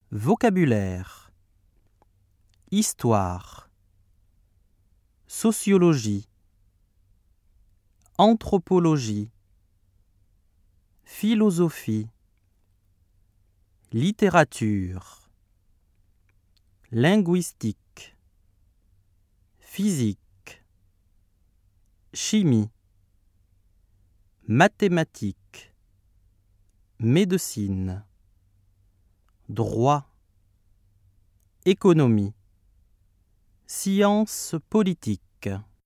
Vocabulaire. Histoire. Sociologie. Anthropologie. Philosophie. Littérature. Linguistique. Physique. Chimie. Mathématiques. Médecine. Droit. Économie. Sciences politiques.